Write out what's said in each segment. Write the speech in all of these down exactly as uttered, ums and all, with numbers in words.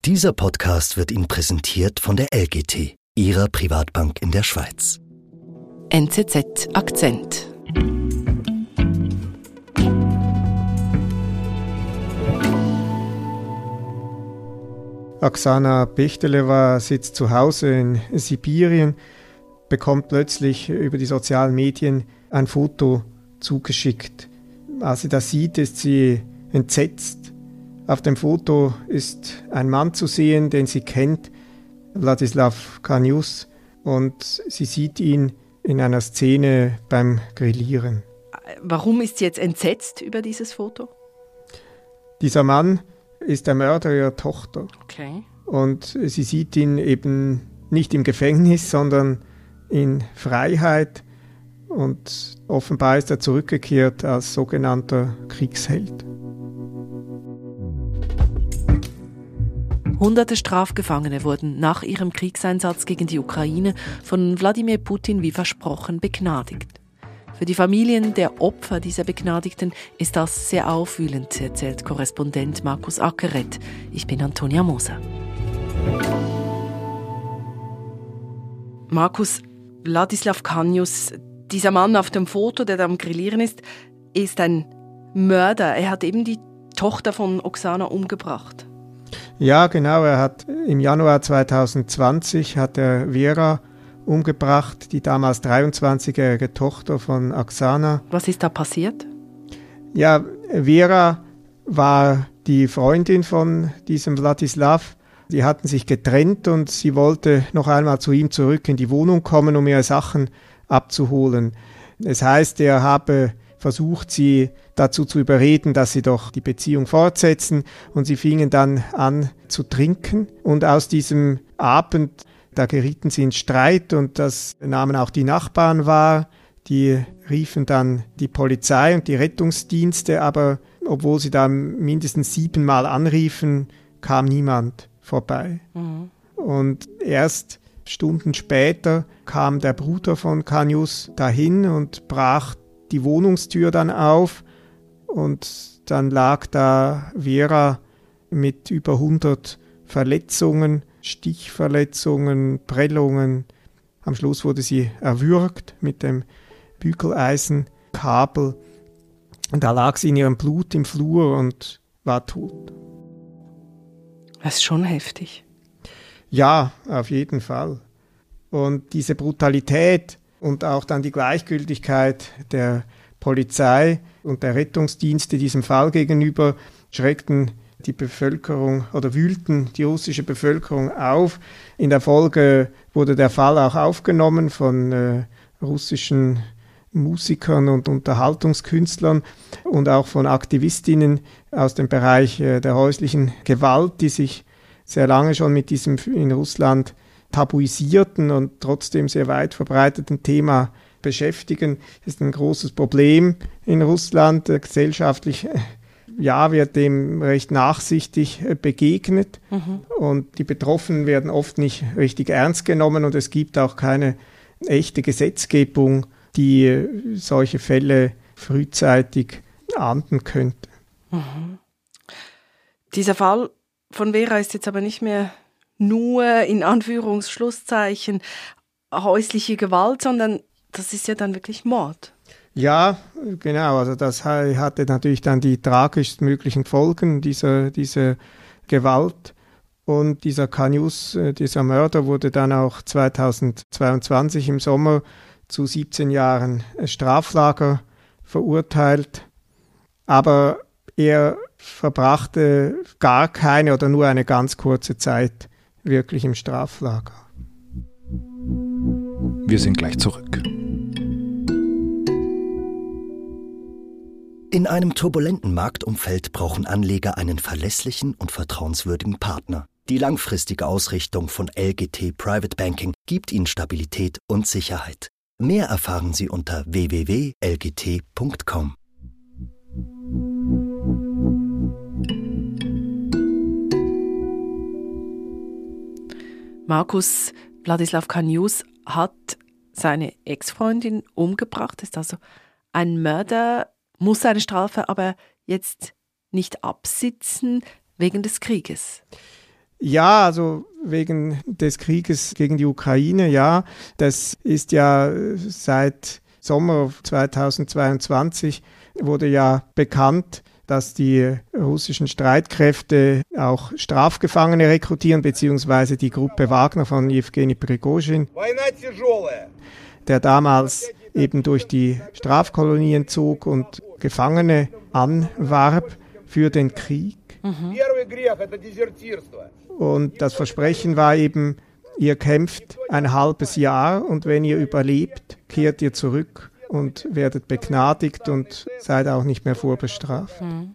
Dieser Podcast wird Ihnen präsentiert von der L G T, Ihrer Privatbank in der Schweiz. N Z Z Akzent. Oksana Bechdelewa sitzt zu Hause in Sibirien, bekommt plötzlich über die sozialen Medien ein Foto zugeschickt. Als sie das sieht, ist sie entsetzt. Auf dem Foto ist ein Mann zu sehen, den sie kennt, Wladislaw Kanius, und sie sieht ihn in einer Szene beim Grillieren. Warum ist sie jetzt entsetzt über dieses Foto? Dieser Mann ist der Mörder ihrer Tochter. Okay. Und sie sieht ihn eben nicht im Gefängnis, sondern in Freiheit. Und offenbar ist er zurückgekehrt als sogenannter Kriegsheld. Hunderte Strafgefangene wurden nach ihrem Kriegseinsatz gegen die Ukraine von Wladimir Putin wie versprochen begnadigt. Für die Familien der Opfer dieser Begnadigten ist das sehr aufwühlend, erzählt Korrespondent Markus Ackeret. Ich bin Antonia Moser. Markus, Wladislaw Kanius, dieser Mann auf dem Foto, der da am Grillieren ist, ist ein Mörder. Er hat eben die Tochter von Oksana umgebracht. Ja, genau. Er hat im Januar zwanzig zwanzig hat er Vera umgebracht, die damals dreiundzwanzigjährige Tochter von Oksana. Was ist da passiert? Ja, Vera war die Freundin von diesem Wladislaw. Die hatten sich getrennt und sie wollte noch einmal zu ihm zurück in die Wohnung kommen, um ihre Sachen abzuholen. Es heißt, er habe versucht, sie dazu zu überreden, dass sie doch die Beziehung fortsetzen, und sie fingen dann an zu trinken, und aus diesem Abend, da gerieten sie in Streit, und das nahmen auch die Nachbarn wahr. Die riefen dann die Polizei und die Rettungsdienste, aber obwohl sie da mindestens siebenmal anriefen, kam niemand vorbei. Mhm. Und erst Stunden später kam der Bruder von Kanius dahin und brach die Wohnungstür dann auf, und dann lag da Vera mit über hundert Verletzungen, Stichverletzungen, Prellungen. Am Schluss wurde sie erwürgt mit dem Bügeleisenkabel. Und da lag sie in ihrem Blut im Flur und war tot. Das ist schon heftig. Ja, auf jeden Fall. Und diese Brutalität und auch dann die Gleichgültigkeit der Polizei und der Rettungsdienste diesem Fall gegenüber schreckten die Bevölkerung oder wühlten die russische Bevölkerung auf. In der Folge wurde der Fall auch aufgenommen von äh, russischen Musikern und Unterhaltungskünstlern und auch von Aktivistinnen aus dem Bereich äh, der häuslichen Gewalt, die sich sehr lange schon mit diesem in Russland tabuisierten und trotzdem sehr weit verbreiteten Thema beschäftigen. Das ist ein großes Problem in Russland. Gesellschaftlich ja, wird dem recht nachsichtig begegnet, mhm. und die Betroffenen werden oft nicht richtig ernst genommen, und es gibt auch keine echte Gesetzgebung, die solche Fälle frühzeitig ahnden könnte. Mhm. Dieser Fall von Vera ist jetzt aber nicht mehr nur in Anführungsschlusszeichen häusliche Gewalt, sondern das ist ja dann wirklich Mord. Ja, genau. Also das hatte natürlich dann die tragischsten möglichen Folgen dieser, dieser Gewalt. Und dieser Kanius, dieser Mörder, wurde dann auch zweitausendzweiundzwanzig im Sommer zu siebzehn Jahren Straflager verurteilt. Aber er verbrachte gar keine oder nur eine ganz kurze Zeit wirklich im Straflager. Wir sind gleich zurück. In einem turbulenten Marktumfeld brauchen Anleger einen verlässlichen und vertrauenswürdigen Partner. Die langfristige Ausrichtung von L G T Private Banking gibt Ihnen Stabilität und Sicherheit. Mehr erfahren Sie unter w w w punkt l g t punkt com. Markus, Wladislaw Kanius hat seine Ex-Freundin umgebracht, ist also ein Mörder, muss seine Strafe aber jetzt nicht absitzen wegen des Krieges. Ja, also wegen des Krieges gegen die Ukraine, ja. Das ist ja seit Sommer zweitausendzweiundzwanzig wurde ja bekannt, dass die russischen Streitkräfte auch Strafgefangene rekrutieren, beziehungsweise die Gruppe Wagner von Jewgeni Prigozhin, der damals eben durch die Strafkolonien zog und Gefangene anwarb für den Krieg. Mhm. Und das Versprechen war eben, ihr kämpft ein halbes Jahr und wenn ihr überlebt, kehrt ihr zurück und werdet begnadigt und seid auch nicht mehr vorbestraft. Mhm.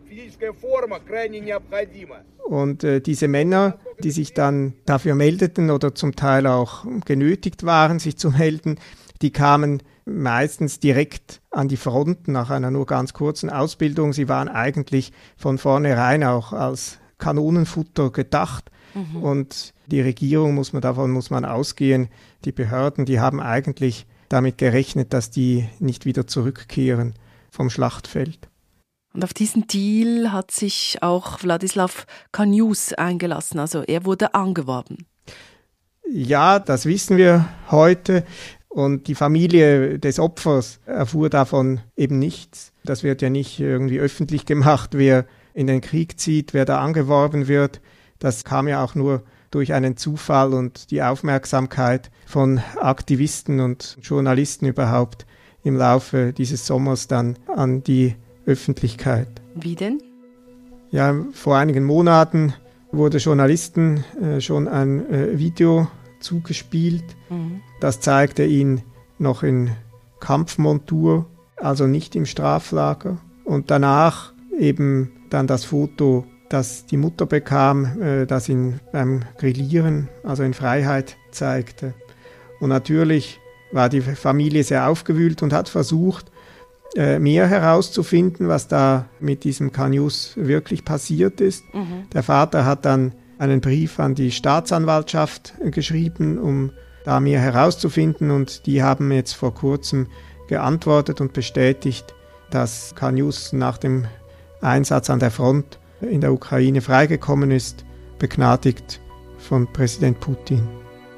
Und äh, diese Männer, die sich dann dafür meldeten oder zum Teil auch genötigt waren, sich zu melden, die kamen meistens direkt an die Front nach einer nur ganz kurzen Ausbildung. Sie waren eigentlich von vornherein auch als Kanonenfutter gedacht. Mhm. Und die Regierung, muss man, davon muss man ausgehen, die Behörden, die haben eigentlich damit gerechnet, dass die nicht wieder zurückkehren vom Schlachtfeld. Und auf diesen Deal hat sich auch Wladislaw Kanius eingelassen, also er wurde angeworben. Ja, das wissen wir heute. Und die Familie des Opfers erfuhr davon eben nichts. Das wird ja nicht irgendwie öffentlich gemacht, wer in den Krieg zieht, wer da angeworben wird. Das kam ja auch nur durch einen Zufall und die Aufmerksamkeit von Aktivisten und Journalisten überhaupt im Laufe dieses Sommers dann an die Öffentlichkeit. Wie denn? Ja, vor einigen Monaten wurde Journalisten äh, schon ein äh, Video zugespielt. Mhm. Das zeigte ihn noch in Kampfmontur, also nicht im Straflager. Und danach eben dann das Foto, das die Mutter bekam, äh, das ihn beim Grillieren, also in Freiheit, zeigte. Und natürlich war die Familie sehr aufgewühlt und hat versucht, äh, mehr herauszufinden, was da mit diesem Kanius wirklich passiert ist. Mhm. Der Vater hat dann einen Brief an die Staatsanwaltschaft geschrieben, um da mehr herauszufinden. Und die haben jetzt vor kurzem geantwortet und bestätigt, dass Kanius nach dem Einsatz an der Front in der Ukraine freigekommen ist, begnadigt von Präsident Putin.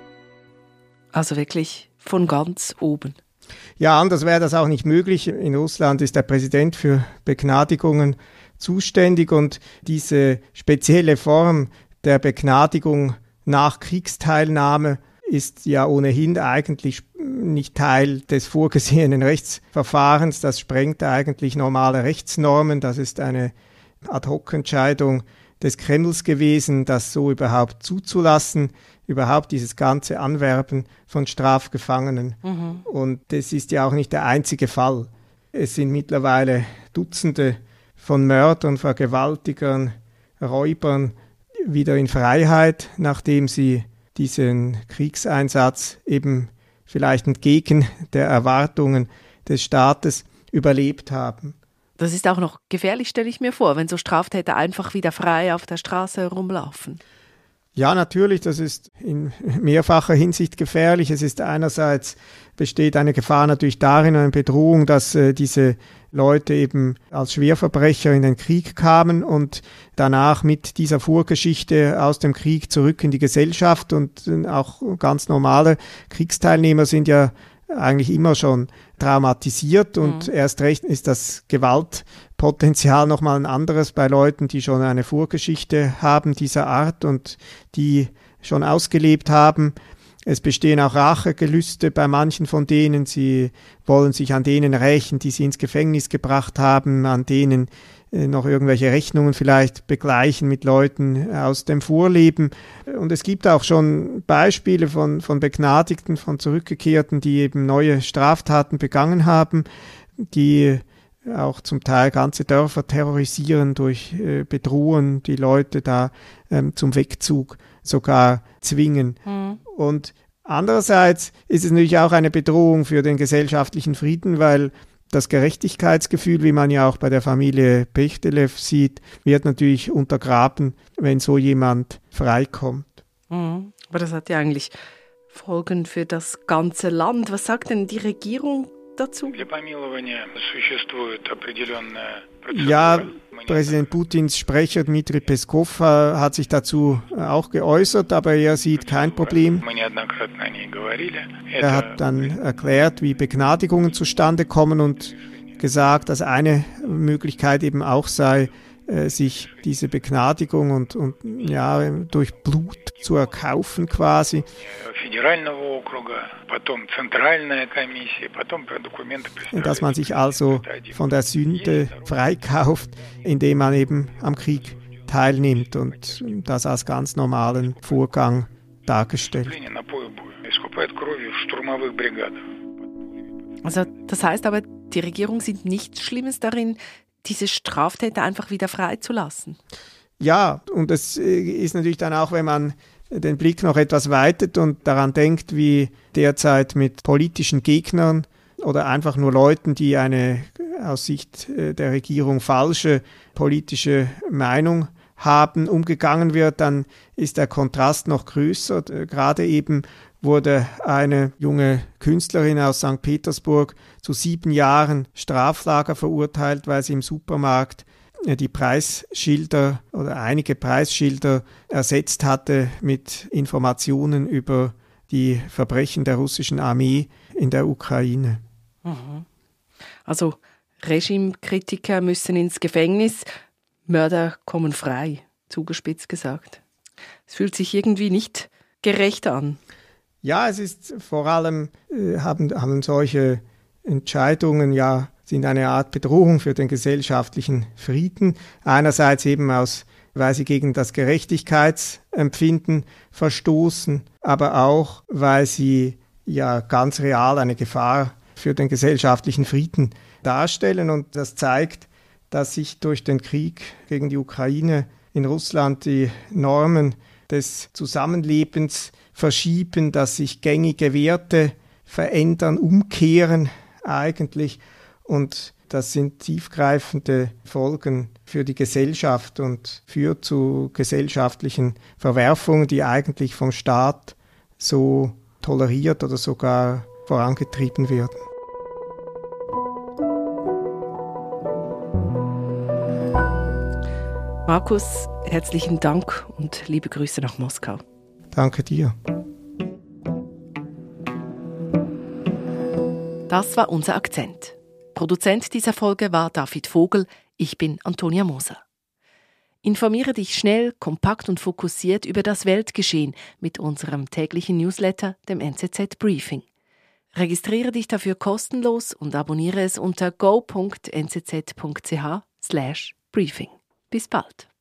Also wirklich von ganz oben. Ja, anders wäre das auch nicht möglich. In Russland ist der Präsident für Begnadigungen zuständig und diese spezielle Form der Begnadigung nach Kriegsteilnahme ist ja ohnehin eigentlich nicht Teil des vorgesehenen Rechtsverfahrens. Das sprengt eigentlich normale Rechtsnormen. Das ist eine Ad-hoc-Entscheidung des Kremls gewesen, das so überhaupt zuzulassen, überhaupt dieses ganze Anwerben von Strafgefangenen. Mhm. Und das ist ja auch nicht der einzige Fall. Es sind mittlerweile Dutzende von Mördern, Vergewaltigern, Räubern wieder in Freiheit, nachdem sie diesen Kriegseinsatz eben vielleicht entgegen der Erwartungen des Staates überlebt haben. Das ist auch noch gefährlich, stelle ich mir vor, wenn so Straftäter einfach wieder frei auf der Straße herumlaufen. Ja, natürlich, das ist in mehrfacher Hinsicht gefährlich. Es ist einerseits, besteht eine Gefahr natürlich darin, eine Bedrohung, dass äh, diese Leute eben als Schwerverbrecher in den Krieg kamen und danach mit dieser Vorgeschichte aus dem Krieg zurück in die Gesellschaft, und äh, auch ganz normale Kriegsteilnehmer sind ja eigentlich immer schon traumatisiert, und mhm. erst recht ist das Gewaltpotenzial nochmal ein anderes bei Leuten, die schon eine Vorgeschichte haben dieser Art und die schon ausgelebt haben. Es bestehen auch Rachegelüste bei manchen von denen. Sie wollen sich an denen rächen, die sie ins Gefängnis gebracht haben, an denen noch irgendwelche Rechnungen vielleicht begleichen mit Leuten aus dem Vorleben. Und es gibt auch schon Beispiele von, von Begnadigten, von Zurückgekehrten, die eben neue Straftaten begangen haben, die auch zum Teil ganze Dörfer terrorisieren, durch äh, Bedrohen, die Leute da ähm, zum Wegzug sogar zwingen. Mhm. Und andererseits ist es natürlich auch eine Bedrohung für den gesellschaftlichen Frieden, weil das Gerechtigkeitsgefühl, wie man ja auch bei der Familie Pechtelew sieht, wird natürlich untergraben, wenn so jemand freikommt. Mhm. Aber das hat ja eigentlich Folgen für das ganze Land. Was sagt denn die Regierung dazu? Ja, Präsident Putins Sprecher Dmitri Peskov hat sich dazu auch geäußert, aber er sieht kein Problem. Er hat dann erklärt, wie Begnadigungen zustande kommen und gesagt, dass eine Möglichkeit eben auch sei, sich diese Begnadigung und, und ja, durch Blut zu erkaufen quasi. Dass man sich also von der Sünde freikauft, indem man eben am Krieg teilnimmt und das als ganz normalen Vorgang dargestellt. Also das heißt aber, die Regierung sieht nichts Schlimmes darin, diese Straftäter einfach wieder freizulassen. Ja, und es ist natürlich dann auch, wenn man den Blick noch etwas weitet und daran denkt, wie derzeit mit politischen Gegnern oder einfach nur Leuten, die eine aus Sicht der Regierung falsche politische Meinung haben, umgegangen wird, dann ist der Kontrast noch größer. Gerade eben wurde eine junge Künstlerin aus Sankt Petersburg zu sieben Jahren Straflager verurteilt, weil sie im Supermarkt die Preisschilder oder einige Preisschilder ersetzt hatte mit Informationen über die Verbrechen der russischen Armee in der Ukraine. Also Regimekritiker müssen ins Gefängnis, Mörder kommen frei, zugespitzt gesagt. Es fühlt sich irgendwie nicht gerecht an. Ja, es ist vor allem, äh, haben, haben solche Entscheidungen ja, sind eine Art Bedrohung für den gesellschaftlichen Frieden. Einerseits eben aus, weil sie gegen das Gerechtigkeitsempfinden verstoßen, aber auch, weil sie ja ganz real eine Gefahr für den gesellschaftlichen Frieden darstellen. Und das zeigt, dass sich durch den Krieg gegen die Ukraine in Russland die Normen des Zusammenlebens verschieben, dass sich gängige Werte verändern, umkehren eigentlich. Und das sind tiefgreifende Folgen für die Gesellschaft und führt zu gesellschaftlichen Verwerfungen, die eigentlich vom Staat so toleriert oder sogar vorangetrieben werden. Markus, herzlichen Dank und liebe Grüße nach Moskau. Danke dir. Das war unser Akzent. Produzent dieser Folge war David Vogel. Ich bin Antonia Moser. Informiere dich schnell, kompakt und fokussiert über das Weltgeschehen mit unserem täglichen Newsletter, dem N Z Z Briefing. Registriere dich dafür kostenlos und abonniere es unter go punkt n z z punkt c h slash briefing. Bis bald.